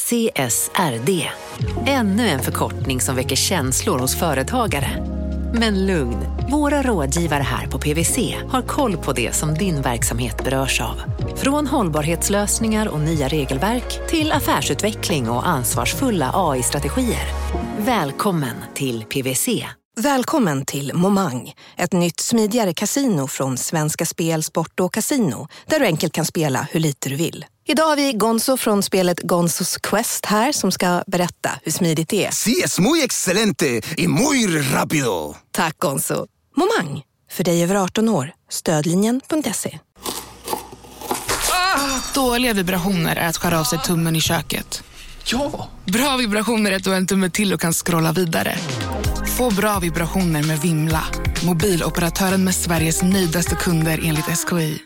CSRD. Ännu en förkortning som väcker känslor hos företagare. Men lugn, våra rådgivare här på PwC har koll på det som din verksamhet berörs av. Från hållbarhetslösningar och nya regelverk till affärsutveckling och ansvarsfulla AI-strategier. Välkommen till PwC. Välkommen till Momang, ett nytt smidigare kasino från Svenska Spel, Sport och Casino, där du enkelt kan spela hur lite du vill. Idag har vi Gonzo från spelet Gonzos Quest här som ska berätta hur smidigt det är. Sí, es muy excelente y muy rápido. Tack Gonzo. Momang, för dig över 18 år. Stödlinjen.se. Dåliga vibrationer är att skära av sig tummen i köket. Ja! Bra vibrationer är att du har en tumme till och kan scrolla vidare. Få bra vibrationer med Vimla. Mobiloperatören med Sveriges nöjdaste kunder enligt SKI.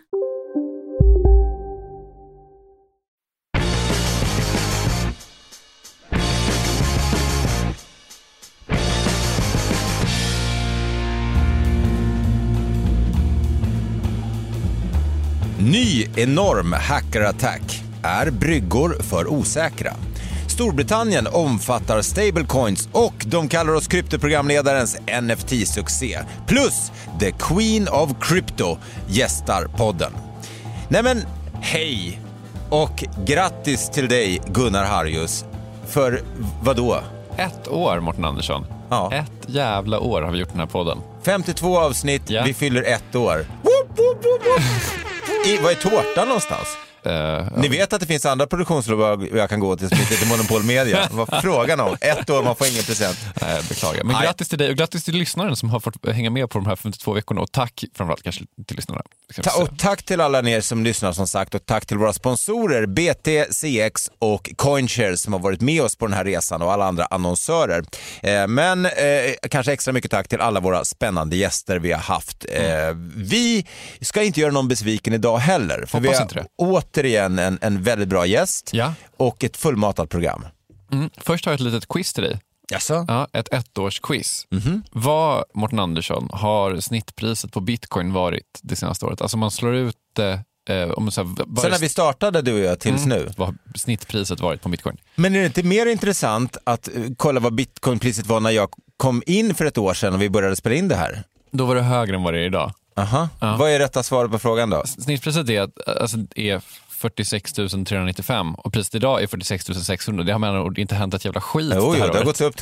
Ny enorm hackerattack. Är bryggor för osäkra? Storbritannien omfattar stablecoins och de kallar oss kryptoprogramledarens NFT-succé. Plus The Queen of Crypto gästar podden. Nej men, hej och grattis till dig Gunnar Harjus. För vad då? 1 år, Mårten Andersson. Ja. 1 jävla år har vi gjort den här podden. 52 avsnitt, ja. Vi fyller 1 år. Vad är tårtan någonstans? Ni vet att det finns andra produktionsbolag jag kan gå till som inte är Monopol Media. Vad frågan om? 1 år, man får ingen present. Nej, beklagar. Men grattis till dig och grattis till lyssnaren som har fått hänga med på de här 52 veckorna. Och tack framförallt kanske till lyssnarna. Och tack till alla er som lyssnar som sagt. Och tack till våra sponsorer BTCX och CoinShares som har varit med oss på den här resan och alla andra annonsörer. Men kanske extra mycket tack till alla våra spännande gäster vi har haft. Vi ska inte göra någon besviken idag heller. För vi har återigen en väldigt bra gäst och ett fullmatat program. Först har jag ett litet quiz till dig. Jaså? Ja, ett 1-årsquiz. Vad, Mårten Andersson, har snittpriset på Bitcoin varit det senaste året? Alltså man slår ut om så när vi startade du och jag tills nu. Vad har snittpriset varit på Bitcoin? Men är det inte mer intressant att kolla vad Bitcoinpriset var när jag kom in för 1 år sedan och vi började spela in det här? Då var det högre än vad det är idag. Aha. Ja. Vad är rätta svaret på frågan då? Snittpriset är 46 395 och priset idag är 46 600. Det har man inte hänt ett jävla skit det här har året. gått upp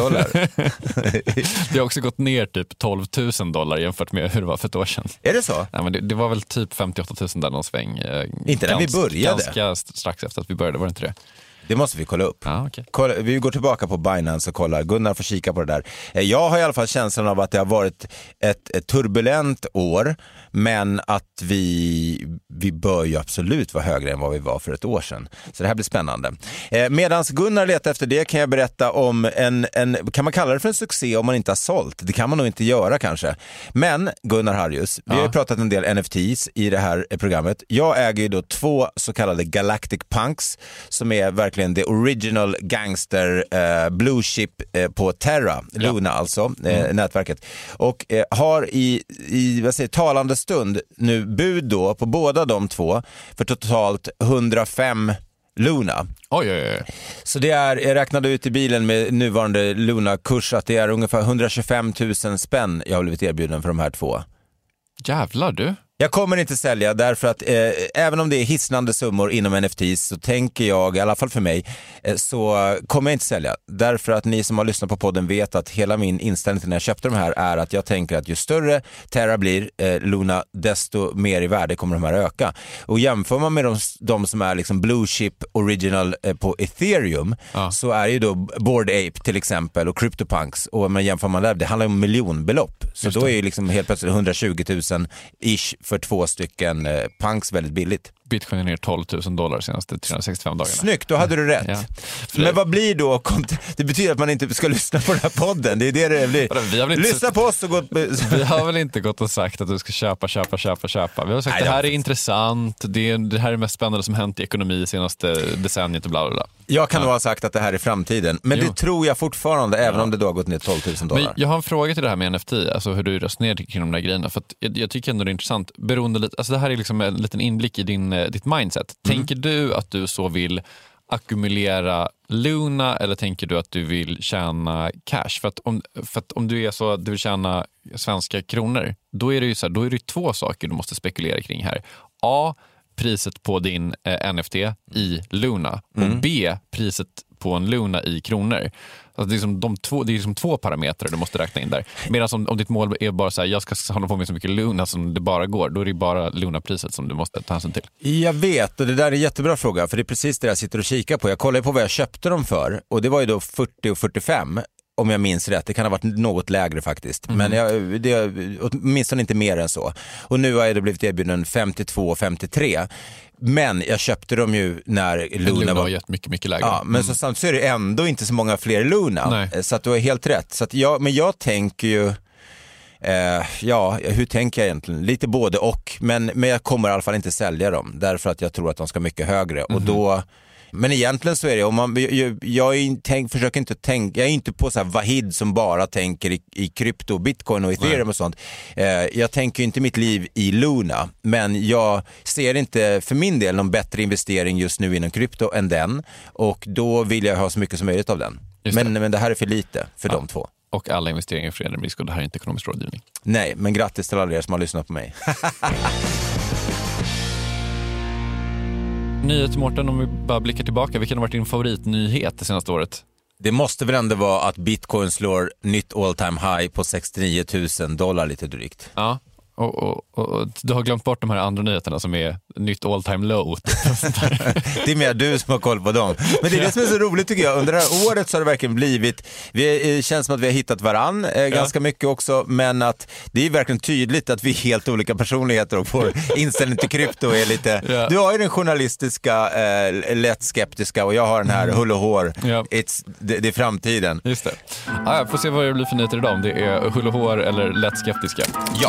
$300. Det har också gått ner typ $12,000 jämfört med hur det var för 1 år sedan. Är det så? Nej, men det var väl typ 58 000 där någon sväng. Inte när vi började. Ganska strax efter att vi började, var det inte det? Det måste vi kolla upp. Ja, okay. Vi går tillbaka på Binance och kollar. Gunnar får kika på det där. Jag har i alla fall känslan av att det har varit ett turbulent år, men att vi bör ju absolut vara högre än vad vi var för 1 år sedan. Så det här blir spännande. Medans Gunnar letar efter det kan jag berätta om kan man kalla det för en succé om man inte har sålt? Det kan man nog inte göra kanske. Men Gunnar Harjus, vi har ju pratat en del NFTs i det här programmet. Jag äger ju då 2 så kallade Galactic Punks som är verkligen the original gangster blue chip på Terra, Luna alltså, nätverket. Och har i vad säger, talande stund nu bud då på båda de 2 för totalt 105 Luna. Oj. Så det är, jag räknade ut i bilen med nuvarande Luna-kurs att det är ungefär 125 000 spänn jag har blivit erbjuden för de här 2. Jävlar du. Jag kommer inte sälja därför att även om det är hisnande summor inom NFTs så tänker jag, i alla fall för mig, så kommer jag inte sälja. Därför att ni som har lyssnat på podden vet att hela min inställning till när jag köpte de här är att jag tänker att ju större Terra blir, Luna, desto mer i värde kommer de här öka. Och jämför man med de som är liksom blue chip original på Ethereum så är ju då Bored Ape till exempel och CryptoPunks, och man jämför man där, det handlar om miljonbelopp. Så då är ju liksom helt plötsligt 120 000 ish för 2 stycken punks väldigt billigt. Bitcoin är ner $12,000 senaste 365 dagarna. Snyggt, då hade du rätt. Ja. Men vad blir då? Det betyder att man inte ska lyssna på den här podden. Det är det blir. Lyssna på oss och gå... Vi har väl inte gått och sagt att du ska köpa. Vi har sagt att det här är intressant. Det här är det mest spännande som hänt i ekonomi senaste decenniet och bla bla bla. Jag kan nog ha sagt att det här är framtiden. Men det tror jag fortfarande, även om det då har gått ner $12,000. Men jag har en fråga till det här med NFT. Alltså hur du resonerar kring de där grejerna. För att jag tycker ändå det är intressant. Beroende lite, alltså det här är liksom en liten inblick i ditt mindset. Tänker du att du så vill ackumulera Luna eller tänker du att du vill tjäna cash? För att om du är så att du vill tjäna svenska kronor, då är det ju så här, då är det 2 saker du måste spekulera kring här. A, priset på din NFT i Luna och B, priset på en Luna i kronor. Alltså det är liksom 2 parametrar du måste räkna in där. Medan om ditt mål är bara så här, jag ska hålla på med så mycket Luna som det bara går, då är det bara Luna-priset som du måste ta hänsyn till. Jag vet, och det där är en jättebra fråga, för det är precis det jag sitter och kikar på. Jag kollar på vad jag köpte dem för, och det var ju då 40 och 45. Om jag minns rätt, det kan ha varit något lägre faktiskt. Men det är åtminstone inte mer än så. Och nu har det blivit erbjuden 52 och 53. Men jag köpte dem ju när Luna var mycket lägre. Ja, men så samtidigt så är det ändå inte så många fler Luna. Nej. Så att du har helt rätt. Så att men jag tänker ju hur tänker jag egentligen? Lite både och. Men jag kommer i alla fall inte sälja dem. Därför att jag tror att de ska mycket högre. Och då... Men egentligen så är det, jag är inte på så här Vahid som bara tänker i krypto, bitcoin och ethereum och sånt. Jag tänker inte mitt liv i Luna, men jag ser inte för min del någon bättre investering just nu inom krypto än den, och då vill jag ha så mycket som möjligt av den. Men det här är för lite för de 2. Och alla investeringar är förenade med risk, och det här är inte ekonomisk rådgivning. Nej, men grattis till alla er som har lyssnat på mig. Nyhet, Mårten, om vi bara blickar tillbaka, vilken har varit din favoritnyhet det senaste året? Det måste väl ändå vara att Bitcoin slår nytt all time high på $69,000 lite drygt. Ja, och du har glömt bort de här andra nyheterna som är nytt all time low. Det är mer du som har koll på dem. Men det är det som är så roligt tycker jag. Under det här året så har det verkligen blivit, det känns som att vi har hittat varann ganska mycket också, men att det är verkligen tydligt att vi är helt olika personligheter, och vår inställning till krypto är lite, du har ju den journalistiska lätt skeptiska, och jag har den här hull och hår. Det är framtiden. Just det. Jag får se vad det blir för nyheter idag, om det är hull och hår eller lätt skeptiska. Ja.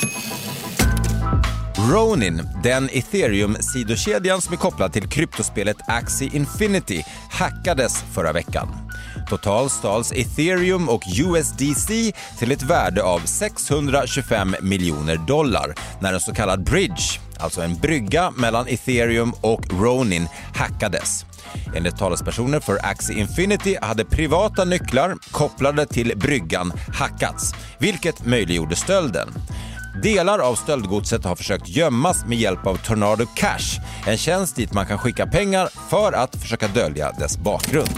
Ronin, den Ethereum-sidokedjan som är kopplad till kryptospelet Axie Infinity, hackades förra veckan. Totalt stals Ethereum och USDC till ett värde av $625 miljoner när en så kallad bridge, alltså en brygga mellan Ethereum och Ronin, hackades. Enligt talespersoner för Axie Infinity hade privata nycklar kopplade till bryggan hackats, vilket möjliggjorde stölden. Delar av stöldgodset har försökt gömmas med hjälp av Tornado Cash, en tjänst dit man kan skicka pengar för att försöka dölja dess bakgrund.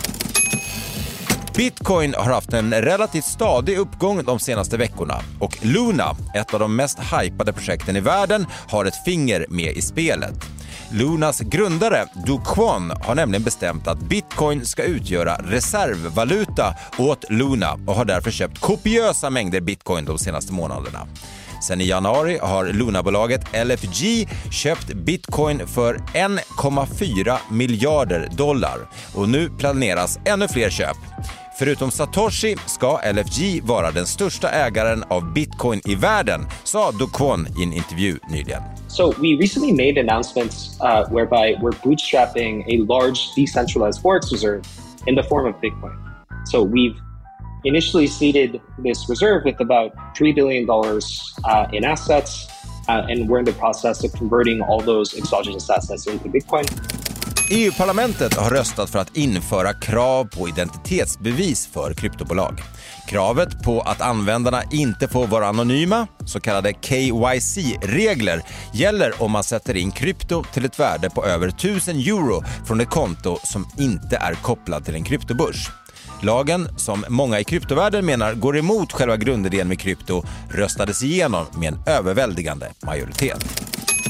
Bitcoin har haft en relativt stadig uppgång de senaste veckorna, och Luna, ett av de mest hypade projekten i världen, har ett finger med i spelet. Lunas grundare Do Kwon har nämligen bestämt att Bitcoin ska utgöra reservvaluta åt Luna och har därför köpt kopiösa mängder Bitcoin de senaste månaderna. Sen i januari har Luna-bolaget LFG köpt Bitcoin för $1,4 miljarder och nu planeras ännu fler köp. Förutom Satoshi ska LFG vara den största ägaren av Bitcoin i världen, sa Do Kwon i en intervju nyligen. So we recently made announcements whereby we're bootstrapping a large decentralized forex reserve in the form of Bitcoin. So we've initially seeded this reserve with about $3 billion in assets, and we're in the process of converting all those exogenous assets into Bitcoin. EU-parlamentet har röstat för att införa krav på identitetsbevis för kryptobolag. Kravet på att användarna inte får vara anonyma, så kallade KYC-regler, gäller om man sätter in krypto till ett värde på över €1,000 från ett konto som inte är kopplad till en kryptobörs. Lagen, som många i kryptovärlden menar går emot själva grundidén med krypto, röstades igenom med en överväldigande majoritet.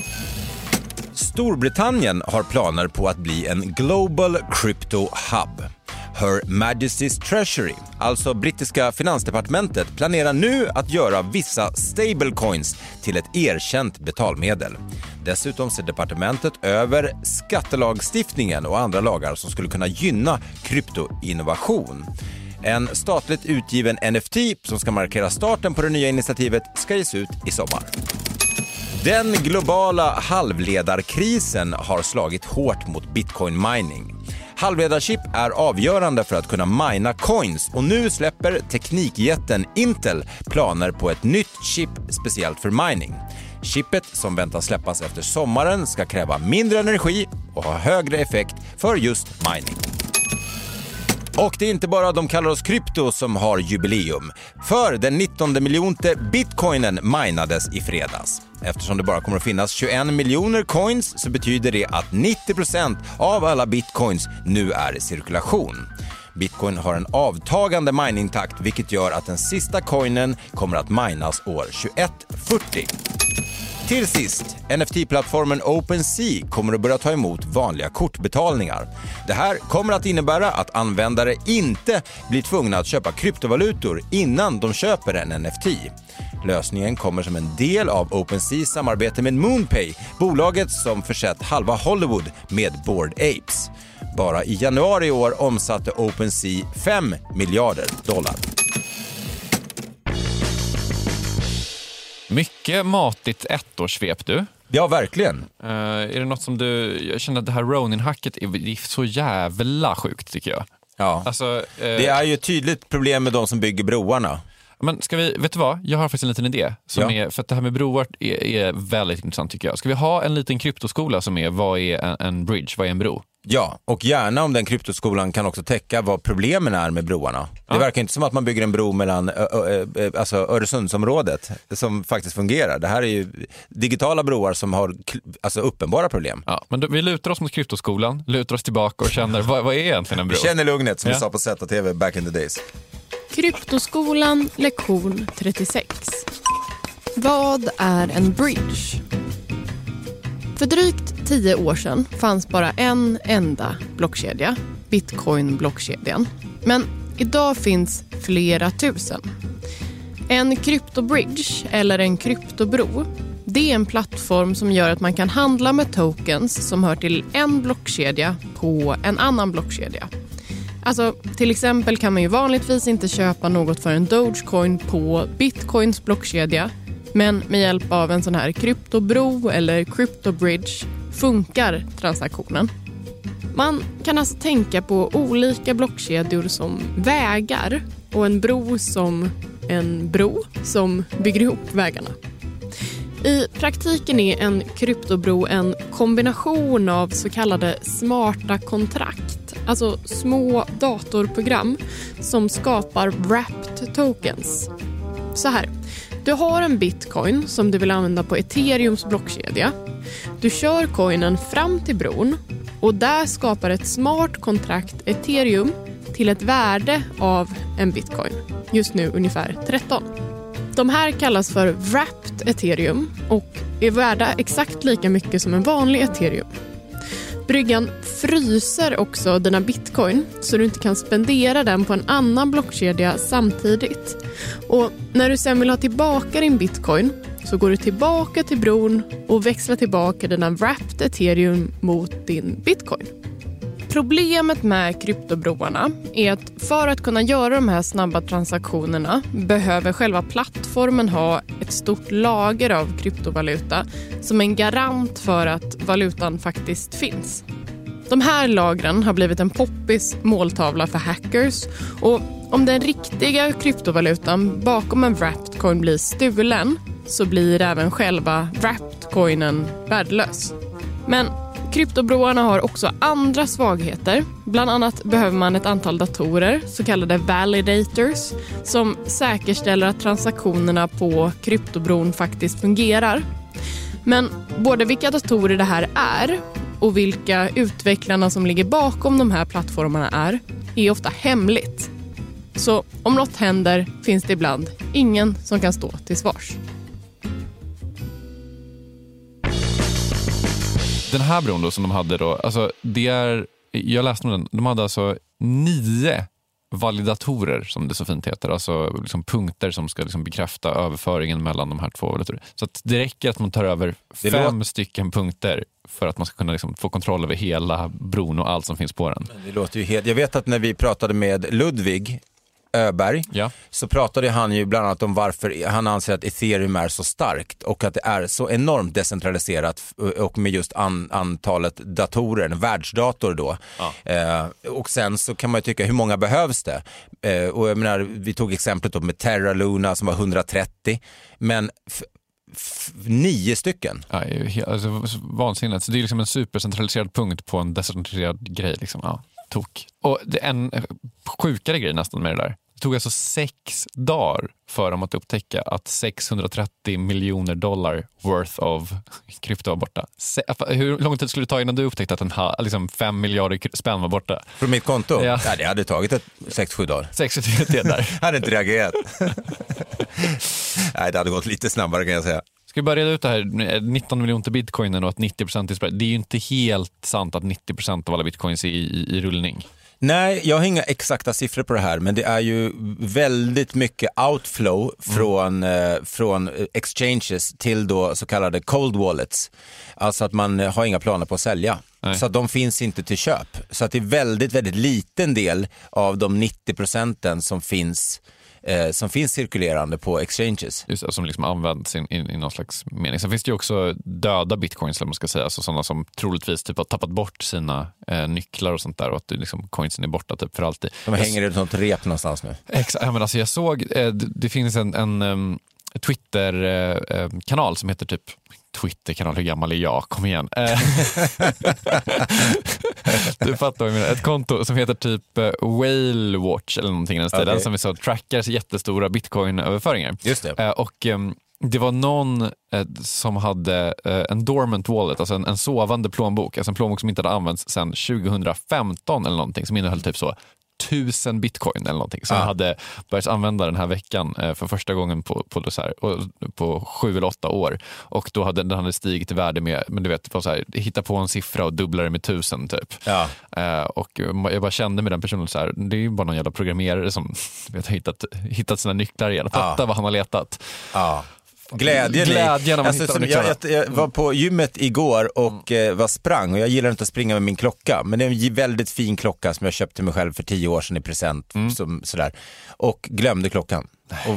Storbritannien har planer på att bli en Global Crypto Hub. Her Majesty's Treasury, alltså brittiska finansdepartementet, planerar nu att göra vissa stablecoins till ett erkänt betalmedel. Dessutom ser departementet över skattelagstiftningen och andra lagar som skulle kunna gynna kryptoinnovation. En statligt utgiven NFT som ska markera starten på det nya initiativet ska ges ut i sommar. Den globala halvledarkrisen har slagit hårt mot bitcoin mining. Halvledarchip är avgörande för att kunna mina coins, och nu släpper teknikjätten Intel planer på ett nytt chip speciellt för mining. Chippet som väntas släppas efter sommaren ska kräva mindre energi och ha högre effekt för just mining. Och det är inte bara de kallar oss krypto som har jubileum. För den 19 miljonte bitcoinen minades i fredags. Eftersom det bara kommer att finnas 21 miljoner coins så betyder det att 90% av alla bitcoins nu är i cirkulation. Bitcoin har en avtagande miningtakt vilket gör att den sista coinen kommer att minas år 2140. Till sist, NFT-plattformen OpenSea kommer att börja ta emot vanliga kortbetalningar. Det här kommer att innebära att användare inte blir tvungna att köpa kryptovalutor innan de köper en NFT. Lösningen kommer som en del av OpenSeas samarbete med MoonPay, bolaget som försett halva Hollywood med Bored Apes. Bara i januari i år omsatte OpenSea $5 miljarder. Mycket matigt ettårssvep du. Ja, verkligen. Är det något som jag känner att det här Ronin-hacket är så jävla sjukt tycker jag. Ja, alltså, det är ju ett tydligt problem med de som bygger broarna. Men vet du vad? Jag har faktiskt en liten idé. För att det här med broar är väldigt intressant tycker jag. Ska vi ha en liten kryptoskola som är, vad är en bridge, vad är en bro? Ja, och gärna om den kryptoskolan kan också täcka vad problemen är med broarna. Ja. Det verkar inte som att man bygger en bro mellan alltså Öresundsområdet som faktiskt fungerar. Det här är ju digitala broar som har alltså uppenbara problem. Ja, men vi lutar oss mot kryptoskolan, lutar oss tillbaka och känner, vad är egentligen en bro? Vi känner lugnet som vi sa på ZTV back in the days. Kryptoskolan, lektion 36. Vad är en bridge? För drygt 10 år sedan fanns bara en enda blockkedja, Bitcoin-blockkedjan. Men idag finns flera tusen. En kryptobridge eller en kryptobro, det är en plattform som gör att man kan handla med tokens som hör till en blockkedja på en annan blockkedja. Alltså, till exempel kan man ju vanligtvis inte köpa något för en Dogecoin på Bitcoins blockkedja. Men med hjälp av en sån här kryptobro eller kryptobridge funkar transaktionen. Man kan alltså tänka på olika blockkedjor som vägar och en bro som en bro som bygger ihop vägarna. I praktiken är en kryptobro en kombination av så kallade smarta kontrakt, alltså små datorprogram som skapar wrapped tokens. Så här, du har en bitcoin som du vill använda på Ethereums blockkedja. Du kör coinen fram till bron och där skapar ett smart kontrakt Ethereum till ett värde av en bitcoin. Just nu ungefär 13. De här kallas för wrapped Ethereum och är värda exakt lika mycket som en vanlig Ethereum. Bryggan fryser också dina bitcoin så du inte kan spendera den på en annan blockkedja samtidigt. Och när du sen vill ha tillbaka din bitcoin så går du tillbaka till bron och växlar tillbaka dina wrapped Ethereum mot din bitcoin. Problemet med kryptobroarna är att för att kunna göra de här snabba transaktionerna behöver själva plattformen ha ett stort lager av kryptovaluta som en garant för att valutan faktiskt finns. De här lagren har blivit en poppis måltavla för hackers och om den riktiga kryptovalutan bakom en wrapped coin blir stulen så blir även själva wrapped coinen värdelös. Men kryptobroarna har också andra svagheter. Bland annat behöver man ett antal datorer, så kallade validators, som säkerställer att transaktionerna på kryptobron faktiskt fungerar. Men både vilka datorer det här är och vilka utvecklarna som ligger bakom de här plattformarna är ofta hemligt. Så om något händer finns det ibland ingen som kan stå till svars. Den här bron då som de hade då, alltså jag läste om den, de hade alltså 9 validatorer som det så fint heter, alltså liksom punkter som ska liksom bekräfta överföringen mellan de här två validatorer. Så att det räcker att man tar över 5 stycken punkter för att man ska kunna liksom få kontroll över hela bron och allt som finns på den. Det låter ju helt... Jag vet att när vi pratade med Ludvig Öberg så pratade han ju bland annat om varför han anser att Ethereum är så starkt och att det är så enormt decentraliserat och med just antalet datorer, en världsdator då. Och sen så kan man ju tycka hur många behövs det? Och jag menar, vi tog exemplet då med Terra Luna som var 130, men 9 stycken. Ja, alltså, vansinnigt. Så det är liksom en supercentraliserad punkt på en decentraliserad grej. Liksom. Ja, tok. Och det är en sjukare grej nästan med det där. Det tog alltså 6 dagar för dem att upptäcka att $630 miljoner worth of krypto var borta. Hur lång tid skulle det ta innan du upptäckte att liksom 5 miljarder spänn var borta? Från mitt konto? Ja. Ja, det hade tagit 6-7 dagar. 6-7 dagar. Jag hade inte reagerat. Nej, det hade gått lite snabbare kan jag säga. Ska vi börja reda ut det här 19 miljoner bitcoinen och att 90% är spread. Det är ju inte helt sant att 90% av alla bitcoins är i rullning. Nej, jag har inga exakta siffror på det här, men det är ju väldigt mycket outflow från exchanges till då så kallade cold wallets. Alltså att man har inga planer på att sälja. Nej. Så att de finns inte till köp. Så att det är väldigt, väldigt liten del av de 90% som finns cirkulerande på exchanges. Just det, som liksom används i någon slags mening. Sen finns det ju också döda bitcoins, man ska säga, alltså sådana som troligtvis typ har tappat bort sina nycklar och sånt där, och att liksom coinsen är borta typ för alltid. De hänger i ett sånt rep någonstans nu. Exakt, men alltså jag såg, det finns en Twitter-kanal som heter typ Twitter-kanal, hur gammal är jag? Kom igen. Du fattar vad jag menar. Ett konto som heter typ Whale Watch eller någonting i den stilen, som vi så trackar jättestora bitcoin-överföringar. Just det. Och det var någon som hade en dormant wallet, alltså en sovande plånbok, alltså en plånbok som inte hade använts sedan 2015 eller någonting, som innehöll typ så 1000 bitcoin eller någonting som hade börjat använda den här veckan för första gången på 7 eller 8 år, och då hade den stigit i värde med, men du vet, så här, hitta på en siffra och dubbla det med 1000 typ. Och jag bara kände med den personen så här, det är ju bara någon jävla programmerare som har hittat sina nycklar igen. Fatta vad han har letat. Glädjen alltså, jag var på gymmet igår och sprang, och jag gillar inte att springa med min klocka, men det är en väldigt fin klocka som jag köpte mig själv för 10 år sedan i present, sådär, och glömde klockan.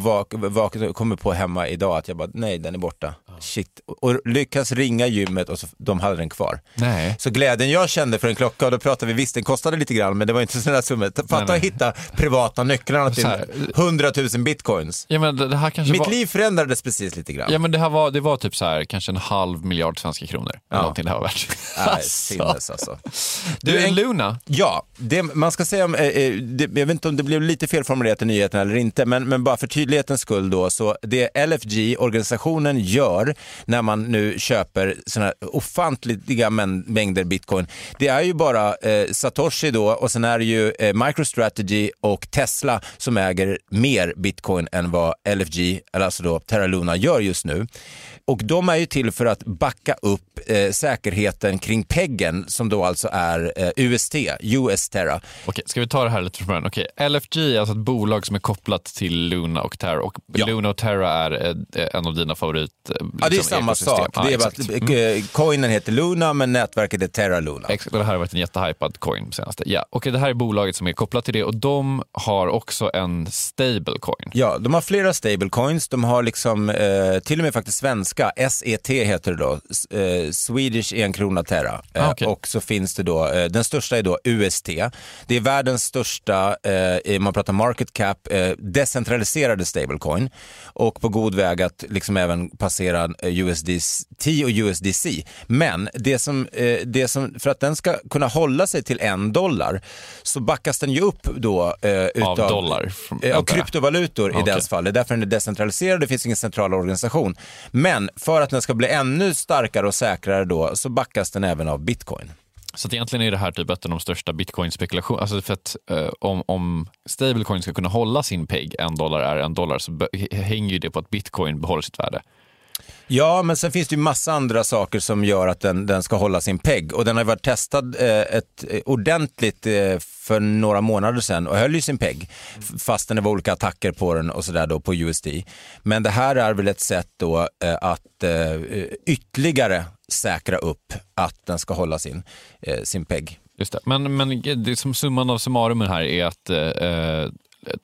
Och kommer på hemma idag att jag bara, nej, den är borta. Shit. Och lyckas ringa gymmet och de hade den kvar. Nej. Så glädjen jag kände för en klocka, och då pratade vi, visst den kostade lite grann, men det var inte sådana där summor. Fatta att hitta privata nycklarna till 100 000 bitcoins. Ja, men det här kanske mitt liv förändrades precis lite grann. Ja, men det var typ så här, kanske 500 miljoner svenska kronor. Någonting det här var värt. Sinnes alltså. Du, Luna? Ja, man ska säga, jag vet inte om det blev lite felformulerat i nyheten eller inte, men bara för tydlighetens skull då, så det LFG-organisationen gör när man nu köper såna här ofantliga mängder bitcoin, det är ju bara Satoshi då, och sen är det ju MicroStrategy och Tesla som äger mer bitcoin än vad LFG, eller alltså då Terra Luna, gör just nu. Och de är ju till för att backa upp säkerheten kring peggen, som då alltså är UST, US Terra. Okej, ska vi ta det här lite från början? Okej, LFG är alltså ett bolag som är kopplat till Luna och Terra, och Luna och Terra är en av dina favorit ja, det är samma sak. Det är bara att coinen heter Luna, men nätverket är Terra Luna. Exakt, och det här har varit en jättehypad coin senaste. Ja, okej, det här är bolaget som är kopplat till det, och de har också en stablecoin. Ja, de har flera stablecoins. De har liksom till och med faktiskt svenska, SET heter det då, Swedish 1 krona Terra. Och så finns det då, den största är då UST. Det är världens största, man pratar market cap, decentraliserade stablecoin, och på god väg att liksom även passera USDT och USDC. Men det som för att den ska kunna hålla sig till $1 så backas den ju upp då utav dollar av kryptovalutor i dess fall. Det är därför den är decentraliserad, det finns ingen central organisation. Men för att den ska bli ännu starkare och säkrare då, så backas den även av bitcoin. Så att egentligen är det här typ ett av de största bitcoin-spekulation. Alltså för att om stablecoin ska kunna hålla sin peg, $1 är $1, så hänger ju det på att bitcoin behåller sitt värde. Ja, men sen finns det ju massa andra saker som gör att den ska hålla sin peg. Och den har varit testad ordentligt för några månader sedan och höll ju sin peg. Fastän det var olika attacker på den och sådär då på USD. Men det här är väl ett sätt då att ytterligare säkra upp att den ska hålla sin peg. Just det. Men det som summan av summarumen här är att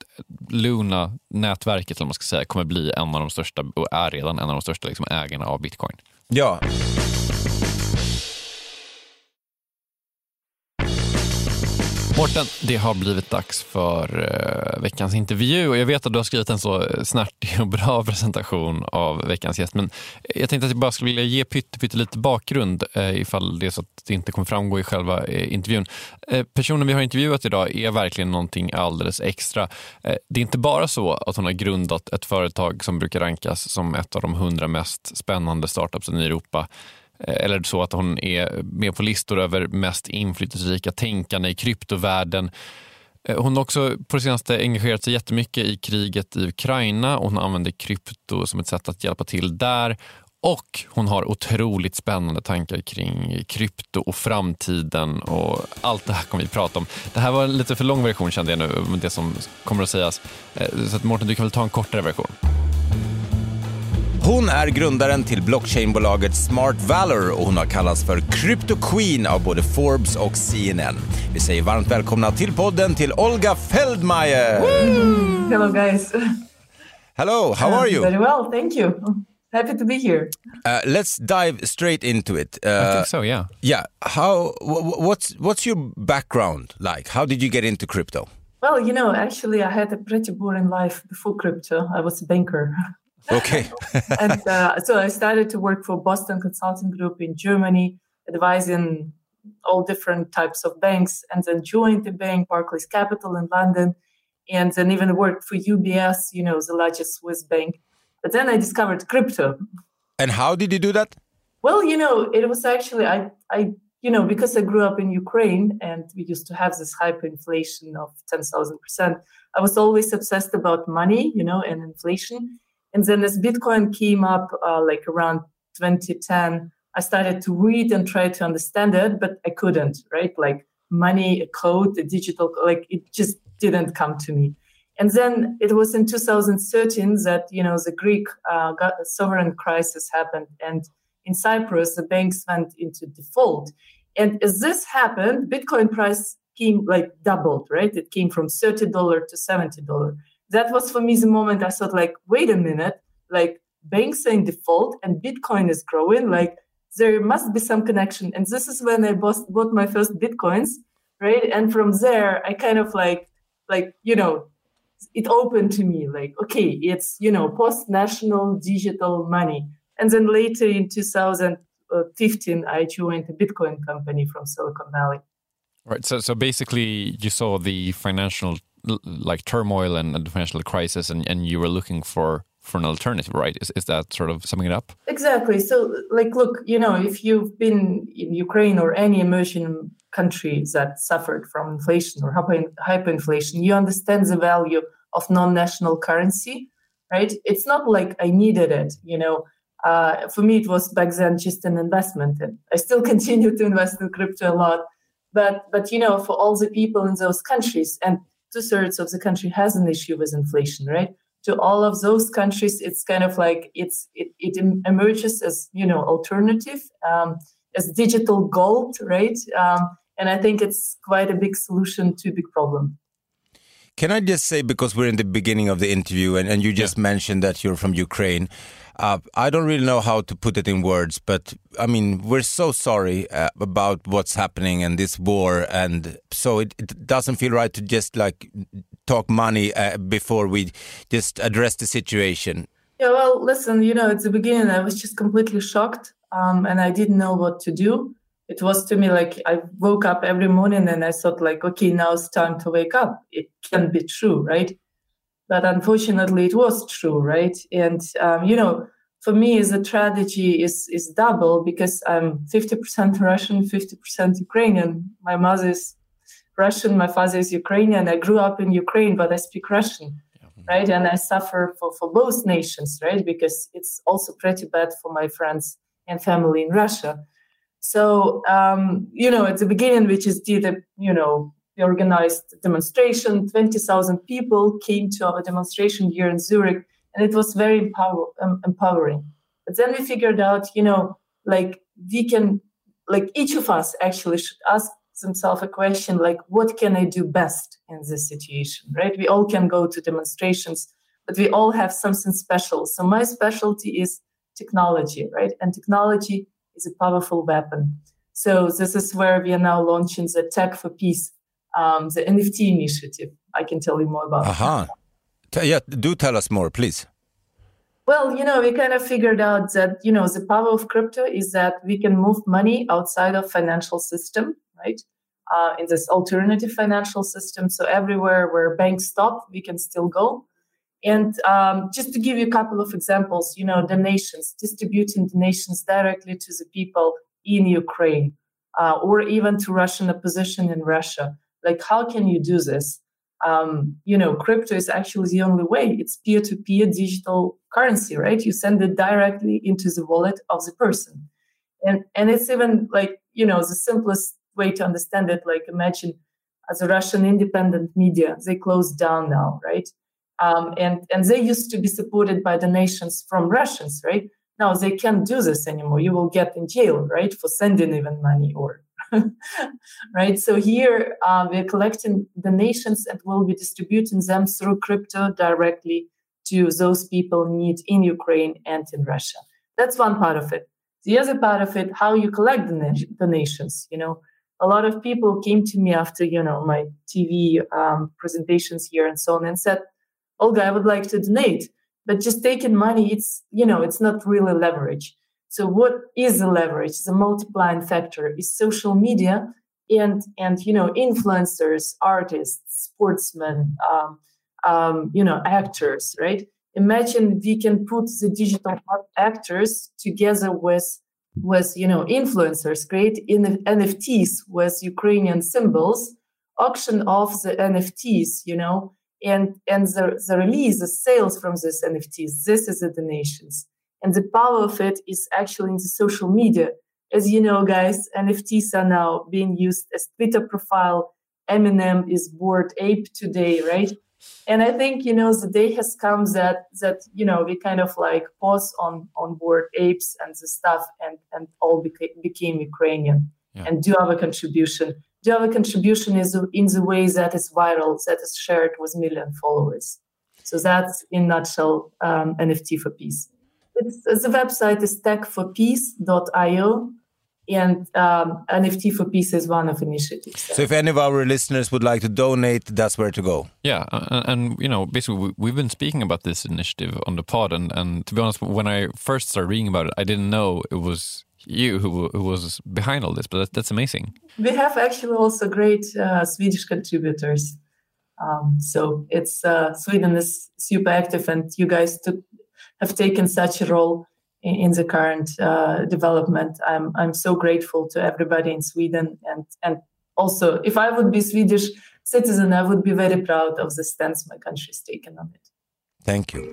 Luna-nätverket, eller man ska säga, kommer bli en av de största, och är redan en av de största liksom, ägarna av bitcoin. Ja. Mårten, det har blivit dags för veckans intervju och jag vet att du har skrivit en så snärtig och bra presentation av veckans gäst, men jag tänkte att jag bara skulle vilja ge pytte lite bakgrund ifall det är så att det inte kommer framgå i själva intervjun. Personen vi har intervjuat idag är verkligen någonting alldeles extra. Det är inte bara så att hon har grundat ett företag som brukar rankas som ett av de 100 mest spännande startups i Europa, eller så att hon är med på listor över mest inflytelserika tänkande i kryptovärlden. Hon har också på det senaste engagerat sig jättemycket i kriget i Ukraina och hon använder krypto som ett sätt att hjälpa till där. Och hon har otroligt spännande tankar kring krypto och framtiden och allt det här kommer vi prata om. Det här var en lite för lång version kände jag nu, det som kommer att sägas. Så att Mårten, du kan väl ta en kortare version. Hon är grundaren till blockchainbolaget Smart Valor och hon har kallats för Crypto Queen av både Forbes och CNN. Vi säger varmt välkomna till podden till Olga Feldmeier. Hello guys. Hello, how are you? Very well, thank you. Happy to be here. Let's dive straight into it. I think so, yeah. Yeah, what's your background like? How did you get into crypto? Well, you know, actually I had a pretty boring life before crypto. I was a banker. Okay. And so I started to work for Boston Consulting Group in Germany, advising all different types of banks, and then joined the bank, Barclays Capital in London, and then even worked for UBS, you know, the largest Swiss bank. But then I discovered crypto. And how did you do that? Well, you know, it was actually, I you know, because I grew up in Ukraine and we used to have this hyperinflation of 10,000%, I was always obsessed about money, you know, and inflation. And then as Bitcoin came up like around 2010, I started to read and try to understand it, but I couldn't, right? Like money, a code, a digital, like it just didn't come to me. And then it was in 2013 that, you know, the Greek sovereign crisis happened. And in Cyprus, the banks went into default. And as this happened, Bitcoin price came like doubled, right? It came from $30 to $70. That was for me the moment I thought like, wait a minute, like banks are in default and Bitcoin is growing, like there must be some connection. And this is when I bought my first Bitcoins, right? And from there, I kind of like, you know, it opened to me like, okay, it's, you know, post-national digital money. And then later in 2015, I joined a Bitcoin company from Silicon Valley. Right. So basically you saw the financial like turmoil and the financial crisis and you were looking for an alternative, right? Is that sort of summing it up? Exactly. So like, look, you know, if you've been in Ukraine or any emerging country that suffered from inflation or hyperinflation, you understand the value of non-national currency, right? It's not like I needed it, you know. For me, it was back then just an investment. And I still continue to invest in crypto a lot. But you know, for all the people in those countries, and 2/3 of the country has an issue with inflation, right? To all of those countries, it's kind of like it emerges as, you know, alternative, as digital gold, right? And I think it's quite a big solution to a big problem. Can I just say, because we're in the beginning of the interview and you just mentioned that you're from Ukraine, I don't really know how to put it in words, but I mean, we're so sorry about what's happening in this war. And so it doesn't feel right to just like talk money before we just address the situation. Yeah, well, listen, you know, at the beginning, I was just completely shocked and I didn't know what to do. It was to me like I woke up every morning and I thought like, okay, now it's time to wake up. It can be true, right? But unfortunately, it was true, right? And, you know, for me, the tragedy is double because I'm 50% Russian, 50% Ukrainian. My mother is Russian, my father is Ukrainian. I grew up in Ukraine, but I speak Russian, right? And I suffer for both nations, right? Because it's also pretty bad for my friends and family in Russia. So, you know, at the beginning, we just did we organized a demonstration. 20,000 people came to our demonstration here in Zurich, and it was very empowering. But then we figured out, you know, like we can, like each of us actually should ask themselves a question, like, what can I do best in this situation, right? We all can go to demonstrations, but we all have something special. So my specialty is technology, right? And technology is a powerful weapon. So this is where we are now launching the Tech for Peace the NFT initiative. I can tell you more about that. Yeah, do tell us more, please. Well, we kind of figured out that, the power of crypto is that we can move money outside of financial system, right? In this alternative financial system. So everywhere where banks stop, we can still go. And just to give you a couple of examples, donations, distributing donations directly to the people in Ukraine, or even to Russian opposition in Russia. Like, how can you do this? Crypto is actually the only way. It's peer-to-peer digital currency, right? You send it directly into the wallet of the person. And it's even like, the simplest way to understand it, like imagine as a Russian independent media, they closed down now, right? And they used to be supported by donations from Russians, right? Now they can't do this anymore. You will get in jail, right? For sending even money or, right? So here we're collecting donations and we'll be distributing them through crypto directly to those people in need in Ukraine and in Russia. That's one part of it. The other part of it, how you collect donations, a lot of people came to me after, my TV presentations here and so on and said, Olga, I would like to donate, but just taking money, it's not really leverage. So what is the leverage? The multiplying factor is social media and influencers, artists, sportsmen, actors, right? Imagine we can put the digital actors together with influencers, create NFTs with Ukrainian symbols, auction off the NFTs, and the release, the sales from these NFTs. This is the donations. And the power of it is actually in the social media. As you know, guys, NFTs are now being used as Twitter profile. Eminem is Bored Ape today, right? And I think, the day has come that we kind of like pause on Bored Apes and the stuff and all became Ukrainian and do our contribution. Do our contribution is in the way that is viral, that is shared with million followers. So that's in a nutshell NFT for Peace. The website is techforpeace.io. And NFT for Peace is one of initiatives. So if any of our listeners would like to donate, that's where to go. Yeah, and basically we've been speaking about this initiative on the pod, and to be honest, when I first started reading about it, I didn't know it was you who was behind all this, but that's amazing. We have actually also great Swedish contributors. So it's Sweden is super active, and you guys have taken such a role in the current development. I'm so grateful to everybody in Sweden, and also if I would be Swedish citizen, I would be very proud of the stance my country has taken on it. Thank you.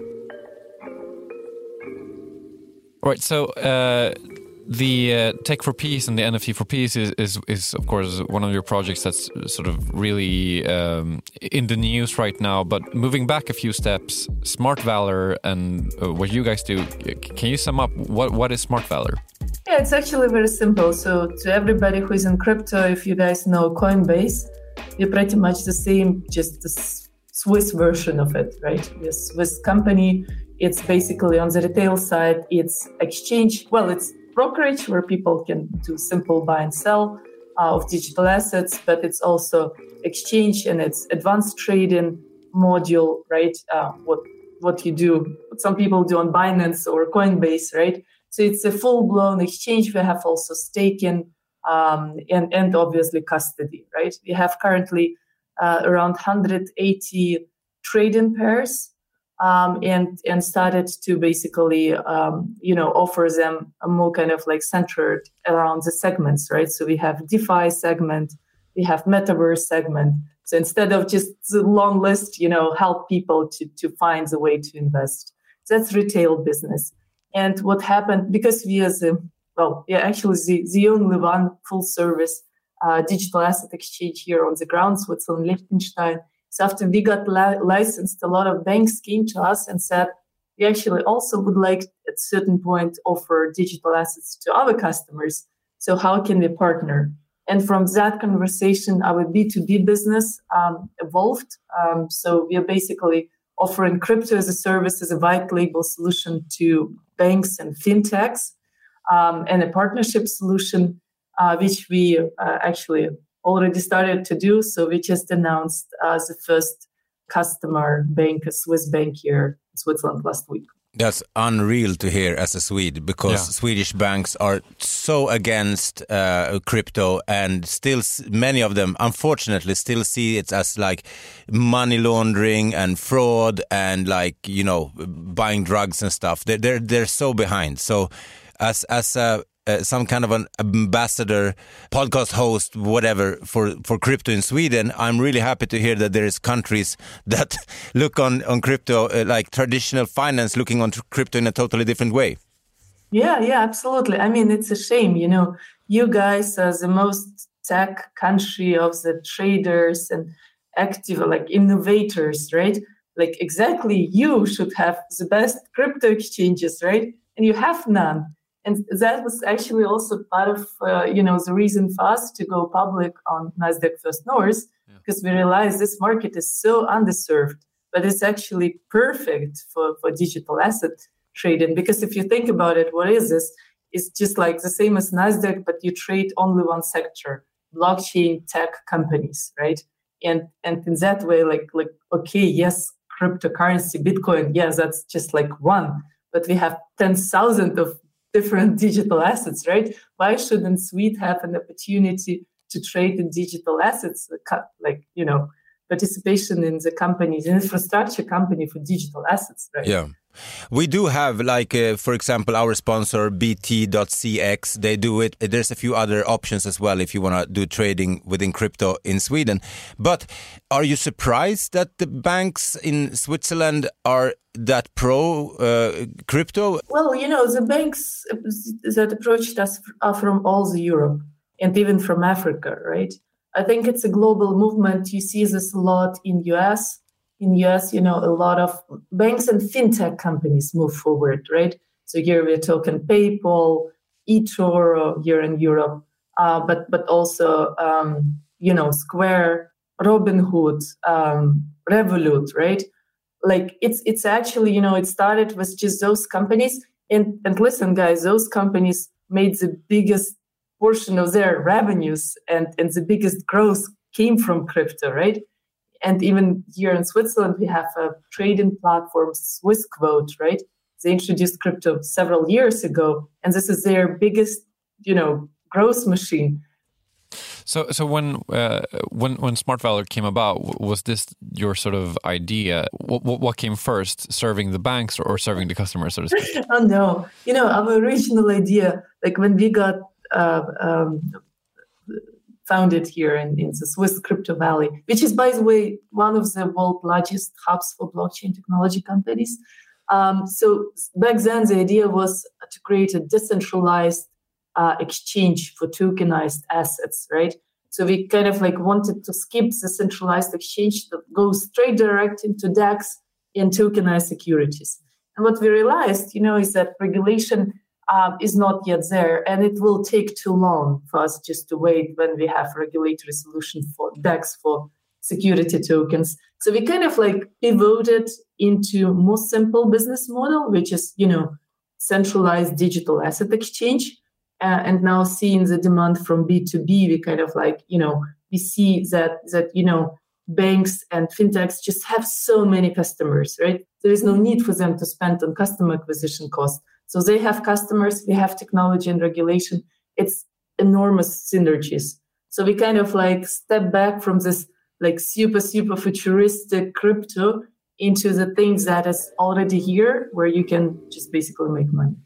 All right, so the Tech for Peace and the NFT for Peace is of course one of your projects that's sort of really in the news right now. But moving back a few steps, Smart Valor and what you guys do, can you sum up what is Smart Valor? Yeah, it's actually very simple. So to everybody who is in crypto, if you guys know Coinbase, we're pretty much the same, just the Swiss version of it, right? The Swiss company, it's basically on the retail side, it's exchange. Well, it's brokerage where people can do simple buy and sell of digital assets, but it's also exchange and it's advanced trading module, right? What you do, what some people do on Binance or Coinbase, right? So it's a full-blown exchange. We have also staking and obviously custody, right? We have currently around 180 trading pairs. And started to basically, offer them a more kind of like centered around the segments, right? So we have DeFi segment, we have Metaverse segment. So instead of just the long list, help people to find the way to invest. That's retail business. And what happened, because we are the only one full service digital asset exchange here on the ground, Switzerland, Liechtenstein. So after we got licensed, a lot of banks came to us and said, we actually also would like at a certain point offer digital assets to our customers. So how can we partner? And from that conversation, our B2B business evolved. So we are basically offering crypto as a service, as a white label solution to banks and fintechs, and a partnership solution, which we actually already started to do. So we just announced the first customer bank, a Swiss bank here in Switzerland last week. That's unreal to hear as a Swede, because Swedish banks are so against crypto, and still many of them, unfortunately, still see it as like money laundering and fraud and like, you know, buying drugs and stuff. They're so behind. So as some kind of an ambassador, podcast host, whatever, for crypto in Sweden, I'm really happy to hear that there is countries that look on crypto, like traditional finance, looking on crypto in a totally different way. Yeah, absolutely. I mean, it's a shame, you know, you guys are the most tech country of the traders and active, like innovators, right? Like exactly, you should have the best crypto exchanges, right? And you have none. And that was actually also part of, the reason for us to go public on Nasdaq First North, because we realized this market is so underserved, but it's actually perfect for digital asset trading. Because if you think about it, what is this? It's just like the same as Nasdaq, but you trade only one sector, blockchain tech companies, right? And in that way, like okay, yes, cryptocurrency, Bitcoin, yes, that's just like one, but we have 10,000 of different digital assets, right? Why shouldn't Sweden have an opportunity to trade in digital assets, like, you know, participation in the company's infrastructure company for digital assets, right? Yeah. We do have, like, for example, our sponsor, BT.cx, they do it. There's a few other options as well if you want to do trading within crypto in Sweden. But are you surprised that the banks in Switzerland are that pro crypto? Well, you know, the banks that approached us are from all the Europe and even from Africa, right? I think it's a global movement. You see this a lot in US. In US, you know, a lot of banks and fintech companies move forward, right? So here we're talking PayPal, eToro here in Europe, but also, Square, Robinhood, Revolut, right? Like it's actually, you know, it started with just those companies. And listen, guys, those companies made the biggest portion of their revenues and the biggest growth came from crypto, right? And even here in Switzerland, we have a trading platform, Swissquote, right? They introduced crypto several years ago, and this is their biggest, you know, growth machine. So when Smart Valor came about, was this your sort of idea? What came first, serving the banks or serving the customers, so to speak? Oh no, you know, our original idea, like when we got founded here in the Swiss Crypto Valley, which is, by the way, one of the world's largest hubs for blockchain technology companies. So back then, the idea was to create a decentralized exchange for tokenized assets, right? So we kind of like wanted to skip the centralized exchange that goes straight direct into DEX and tokenized securities. And what we realized, you know, is that regulation is not yet there, and it will take too long for us just to wait when we have regulatory solution for DEX for security tokens. So we kind of like pivoted into more simple business model, which is, you know, centralized digital asset exchange. And now seeing the demand from B2B, we kind of like, you know, we see that, you know, banks and fintechs just have so many customers, right? There is no need for them to spend on customer acquisition costs. So they have customers, we have technology and regulation. It's enormous synergies. So we kind of like step back from this like super futuristic crypto into the things that is already here, where you can just basically make money.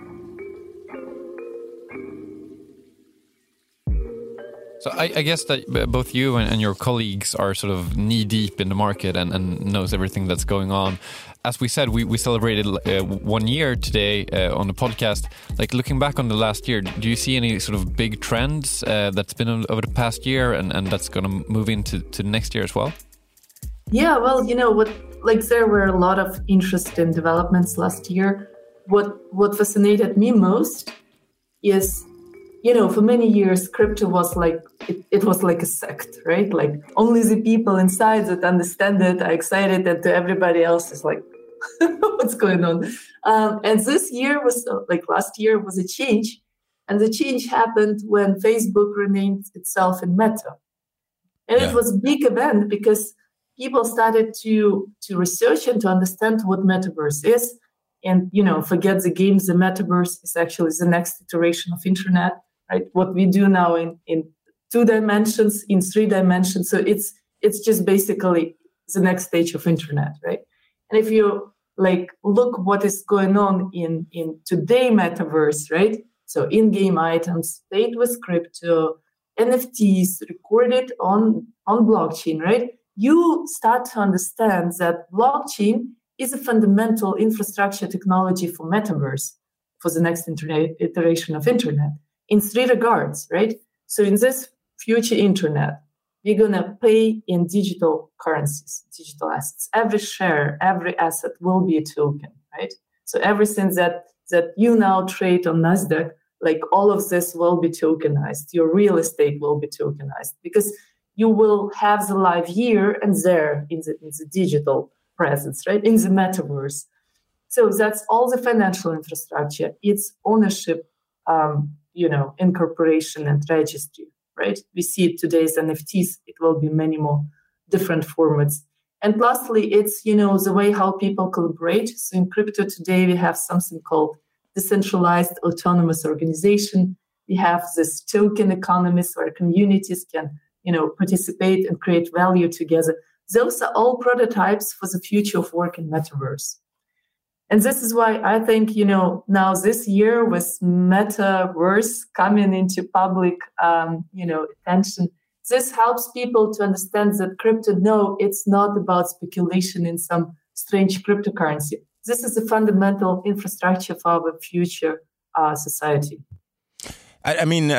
So I guess that both you and your colleagues are sort of knee deep in the market and knows everything that's going on. As we said, we celebrated 1 year today on the podcast. Like looking back on the last year, do you see any sort of big trends that's been over the past year and that's going to move into next year as well? Yeah, well, you know what? Like there were a lot of interesting developments last year. What fascinated me most is, you know, for many years, crypto was like, it was like a sect, right? Like only the people inside that understand it are excited, and to everybody else is like, what's going on? And this year was like last year was a change. And the change happened when Facebook renamed itself in Meta. And it was a big event because people started to research and to understand what metaverse is. And, forget the games, the metaverse is actually the next iteration of internet, right? What we do now in 2 dimensions, in 3 dimensions. So it's just basically the next stage of internet, right? And if you look what is going on in today metaverse, right? So in-game items, paid with crypto, NFTs recorded on blockchain, right? You start to understand that blockchain is a fundamental infrastructure technology for metaverse, for the next iteration of internet, in 3 regards, right? So in this future internet, we're going to pay in digital currencies, digital assets. Every share, every asset will be a token, right? So everything that you now trade on NASDAQ, all of this will be tokenized. Your real estate will be tokenized because you will have the live here and there in the digital presence, right? In the metaverse. So that's all the financial infrastructure. It's ownership, incorporation and registry, right? We see it today as NFTs. It will be many more different formats. And lastly, it's, the way how people collaborate. So in crypto today, we have something called decentralized autonomous organization. We have this token economies where communities can, participate and create value together. Those are all prototypes for the future of work in metaverse. And this is why I think, now this year with metaverse coming into public, attention, this helps people to understand that crypto, no, it's not about speculation in some strange cryptocurrency. This is a fundamental infrastructure for our future society. I mean,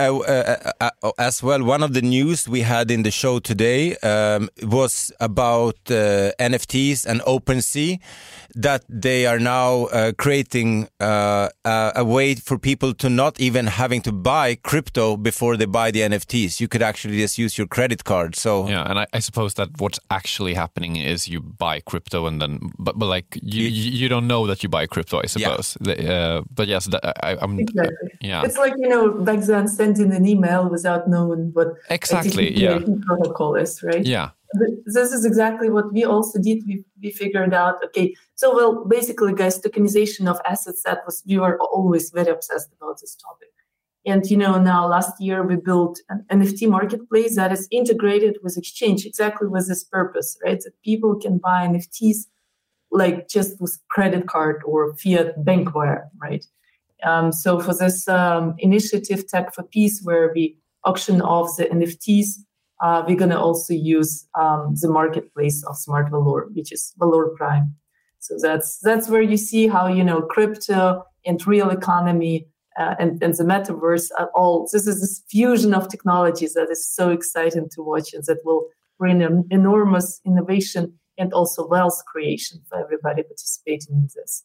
as well, one of the news we had in the show today was about NFTs and OpenSea, that they are now creating a way for people to not even having to buy crypto before they buy the NFTs. You could actually just use your credit card. So yeah, and I suppose that what's actually happening is you buy crypto and then, but you don't know that you buy crypto, I suppose. Yeah. But yes, I'm exactly. Yeah, it's like back then sending an email without knowing what exactly protocol is, right? Yeah. This is exactly what we also did. We figured out, okay, so basically, guys, tokenization of assets, we were always very obsessed about this topic. And, now last year we built an NFT marketplace that is integrated with exchange, exactly with this purpose, right? That people can buy NFTs just with credit card or fiat bank wire, right? So for this initiative, Tech for Peace, where we auction off the NFTs, we're going to also use the marketplace of Smart Valor, which is Valor Prime. So that's where you see how, crypto and real economy and the metaverse are all, this is this fusion of technologies that is so exciting to watch and that will bring an enormous innovation and also wealth creation for everybody participating in this.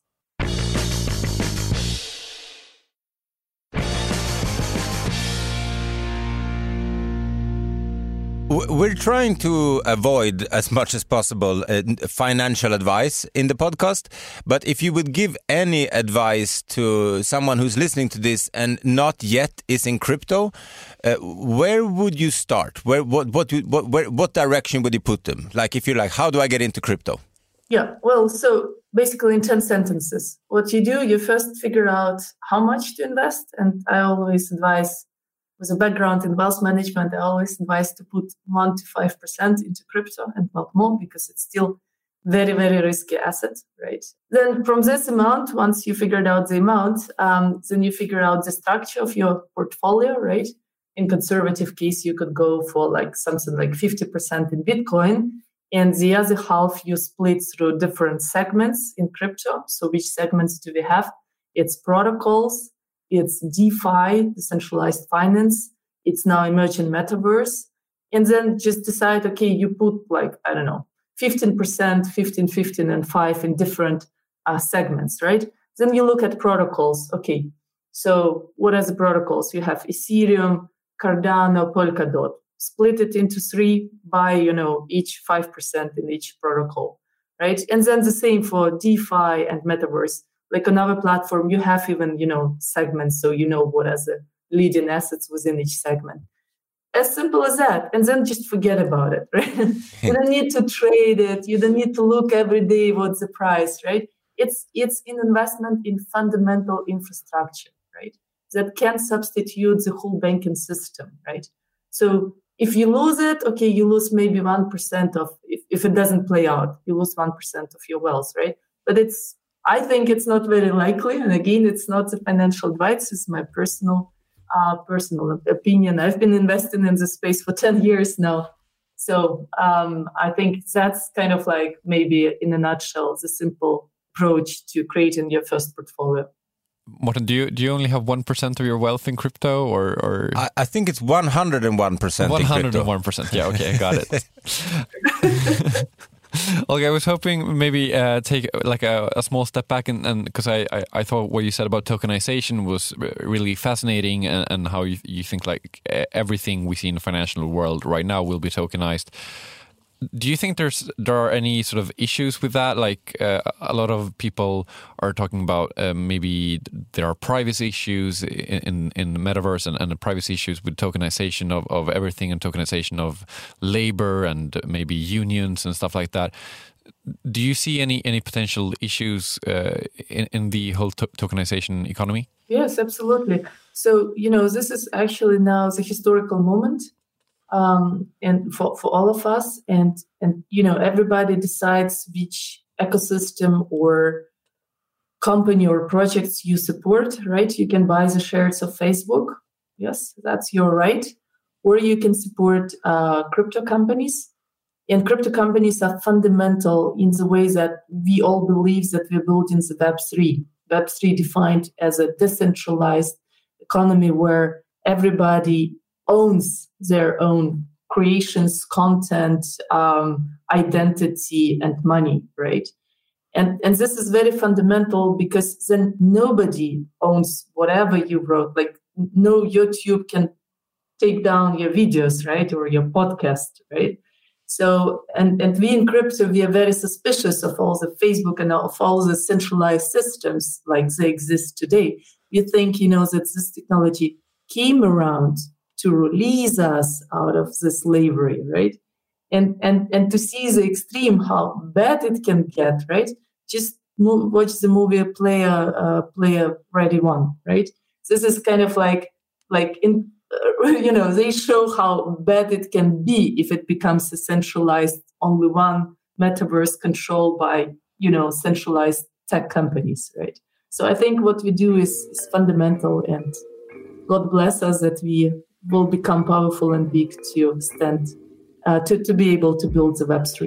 We're trying to avoid as much as possible financial advice in the podcast, but if you would give any advice to someone who's listening to this and not yet is in crypto, where would you start? What direction would you put them? Like if you're like, how do I get into crypto? Yeah, well, so basically in 10 sentences, what you do, you first figure out how much to invest. And I always advise, with a background in wealth management, I always advise to put 1 to 5% into crypto and not more, because it's still very, very risky asset, right? Then from this amount, once you figured out the amount, then you figure out the structure of your portfolio, right? In conservative case, you could go for something like 50% in Bitcoin, and the other half you split through different segments in crypto. So which segments do we have? It's protocols, it's DeFi, decentralized finance, it's now emerging metaverse. And then just decide, okay, you put 15%, 15, and 5 in different segments, right? Then you look at protocols. Okay, so what are the protocols? You have Ethereum, Cardano, Polkadot. Split it into 3 by, each 5% in each protocol, right? And then the same for DeFi and metaverse. Like another platform, you have even, segments, so what are the leading assets within each segment. as simple as that. And then just forget about it, right? You don't need to trade it. You don't need to look every day what's the price, right? It's an investment in fundamental infrastructure, right? That can substitute the whole banking system, right? So if you lose it, okay, you lose maybe 1% of, if it doesn't play out, you lose 1% of your wealth, right? But I think it's not very likely. And again, it's not the financial advice, it's my personal opinion. I've been investing in this space for 10 years now. So I think that's kind of like maybe in a nutshell, the simple approach to creating your first portfolio. Morten, do you only have 1% of your wealth in crypto, or? I think it's 101% in crypto. 101%, yeah, okay, I got it. Okay, I was hoping maybe take like a small step back, and because I thought what you said about tokenization was really fascinating, and how you think like everything we see in the financial world right now will be tokenized. Do you think there are any sort of issues with that? Like a lot of people are talking about maybe there are privacy issues in the metaverse and the privacy issues with tokenization of everything and tokenization of labor and maybe unions and stuff like that. Do you see any potential issues in the whole tokenization economy? Yes, absolutely. So, this is actually now the historical moment. And for all of us, and everybody decides which ecosystem or company or projects you support, right? You can buy the shares of Facebook. Yes, that's your right. Or you can support crypto companies. And crypto companies are fundamental in the way that we all believe that we're building the Web3. Web3 defined as a decentralized economy where everybody owns their own creations, content, identity, and money, right? And this is very fundamental because then nobody owns whatever you wrote. Like no YouTube can take down your videos, right? Or your podcast, right? So, and we in crypto, we are very suspicious of all the Facebook and of all the centralized systems like they exist today. We think, that this technology came around to release us out of this slavery, right? And to see the extreme, how bad it can get, right? Just watch the movie Player Ready One, right? This is kind of like in, they show how bad it can be if it becomes a centralized, only one metaverse controlled by, centralized tech companies, right? So I think what we do is fundamental, and God bless us that we will become powerful and big to stand, to be able to build the Web3.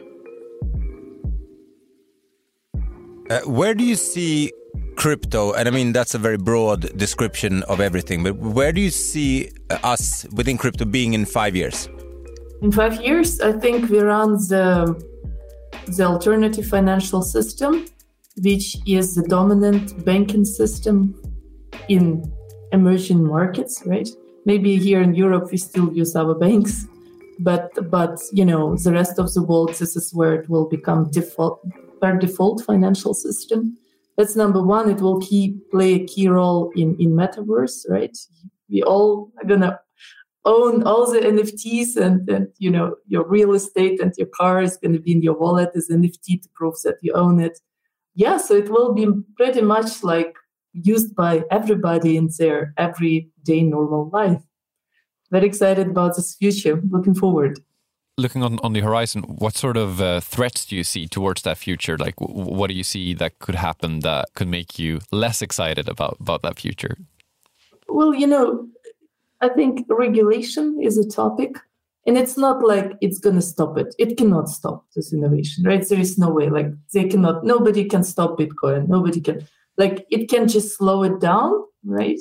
Where do you see crypto? And I mean, that's a very broad description of everything, but where do you see us within crypto being in 5 years? In 5 years, I think we run the alternative financial system, which is the dominant banking system in emerging markets, right? Maybe here in Europe, we still use our banks, but the rest of the world, this is where it will become per default financial system. That's number one. It will play a key role in metaverse, right? We all are gonna own all the NFTs, and your real estate and your car is gonna be in your wallet as NFT to prove that you own it. Yeah, so it will be pretty much like used by everybody in their everyday normal life. Very excited about this future. Looking forward. Looking on the horizon, what sort of threats do you see towards that future? Like, what do you see that could happen that could make you less excited about that future? Well, I think regulation is a topic, and it's not like it's going to stop it. It cannot stop this innovation, right? There is no way. Like nobody can stop Bitcoin. Nobody can. Like it can just slow it down, right?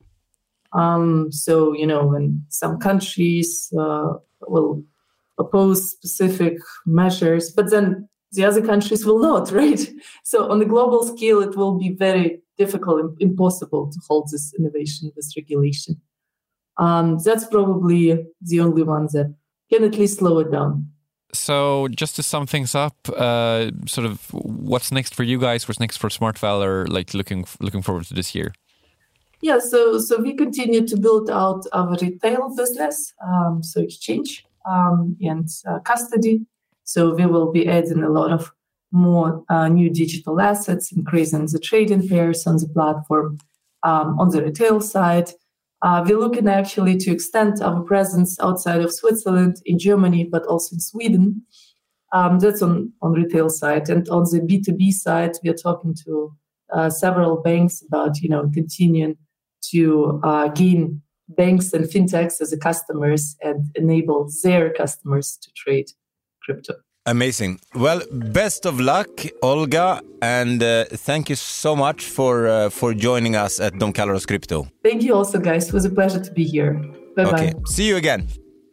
So, when some countries will oppose specific measures, but then the other countries will not, right? So on the global scale, it will be very difficult, impossible to hold this innovation, this regulation. That's probably the only one that can at least slow it down. So just to sum things up, sort of what's next for you guys? What's next for SmartValor? Like looking forward to this year? Yeah, so we continue to build out our retail business, so exchange and custody. So we will be adding a lot of more new digital assets, increasing the trading pairs on the platform. On the retail side, we're looking actually to extend our presence outside of Switzerland, in Germany, but also in Sweden. That's on retail side. And on the B2B side, we are talking to several banks about, continuing to gain banks and fintechs as customers and enable their customers to trade crypto. Amazing. Well, best of luck, Olga, and thank you so much for joining us at Don Carlos Crypto. Thank you also, guys. It was a pleasure to be here. Bye-bye. Okay, see you again.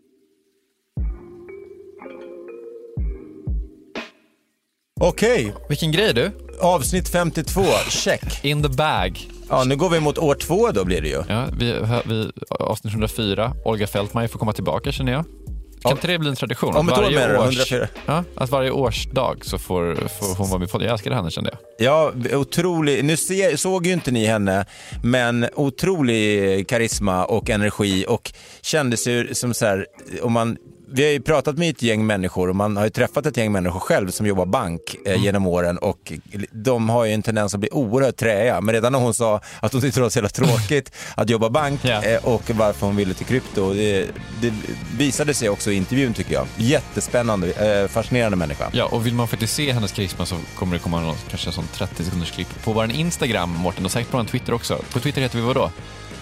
Okej. Vilken grej du. Avsnitt 52, check. In the bag. Ja, nu går vi mot år 2 då blir det ju. Ja, vi avsnitt 104. Olga Fältmeier får komma tillbaka, känner jag. Kan inte det bli en tradition? Om varje 104. Ja, att varje årsdag så får hon vara med på det. Jag älskar henne, kände jag. Ja, otrolig. Nu såg ju inte ni henne, men otrolig karisma och energi, och kändes ju som så här, vi har ju pratat med ett gäng människor och man har ju träffat ett gäng människor själv som jobbar bank genom åren, och de har ju en tendens att bli oerhört träiga. Men redan när hon sa att hon tyckte det var så jävla tråkigt att jobba bank och varför hon ville till krypto, det visade sig också i intervjun, tycker jag. Jättespännande, fascinerande människa. Ja, och vill man faktiskt se hennes karisma så kommer det komma kanske en sån 30 sekunders klipp på vår Instagram, Mårten, och säkert på en Twitter också. På Twitter heter vi vad då?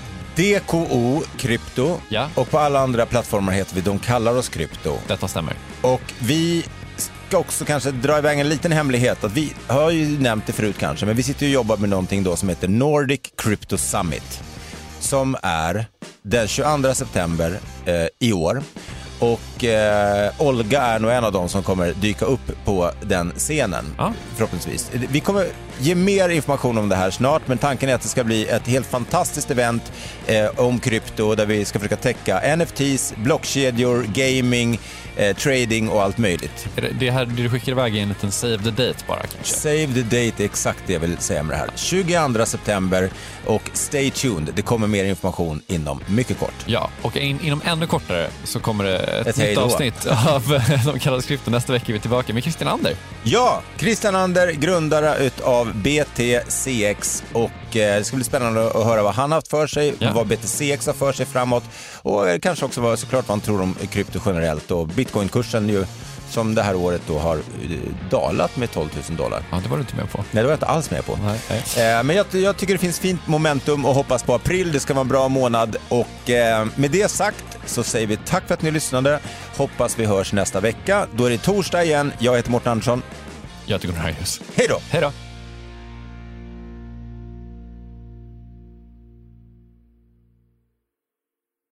DKO Krypto, och på alla andra plattformar heter vi De kallar oss Krypto. Detta stämmer. Och vi ska också kanske dra iväg en liten hemlighet, att vi har ju nämnt det förut kanske, men vi sitter och jobbar med någonting då som heter Nordic Crypto Summit, som är den 22 september i år. Och Olga är nog en av dem som kommer dyka upp på den scenen, förhoppningsvis. Vi kommer ge mer information om det här snart, men tanken är att det ska bli ett helt fantastiskt event om krypto, där vi ska försöka täcka NFTs, blockkedjor, gaming, trading och allt möjligt. Det här du skickar iväg en liten save the date bara kanske? Save the date, exakt det jag vill säga med det här. 22 september, och stay tuned. Det kommer mer information inom mycket kort. Ja, och inom ännu kortare så kommer det ett nytt avsnitt av De kallar oss Krypto. Nästa vecka är vi tillbaka med Christian Ander. Ja, Christian Ander, grundare utav BTCX, och det ska bli spännande att höra vad han har haft för sig, vad BTCX har för sig framåt, och kanske också såklart vad han tror om krypto generellt, och bitcoinkursen ju som det här året då har dalat med $12,000. Ja, det var du inte med på. Nej, det var jag inte alls med på. Nej. Men jag tycker det finns fint momentum och hoppas på april. Det ska vara en bra månad, och med det sagt så säger vi tack för att ni lyssnade. Hoppas vi hörs nästa vecka. Då är det torsdag igen. Jag heter Mårten Andersson. Jag heter Gunnar Harjus. Hej då! Hej då!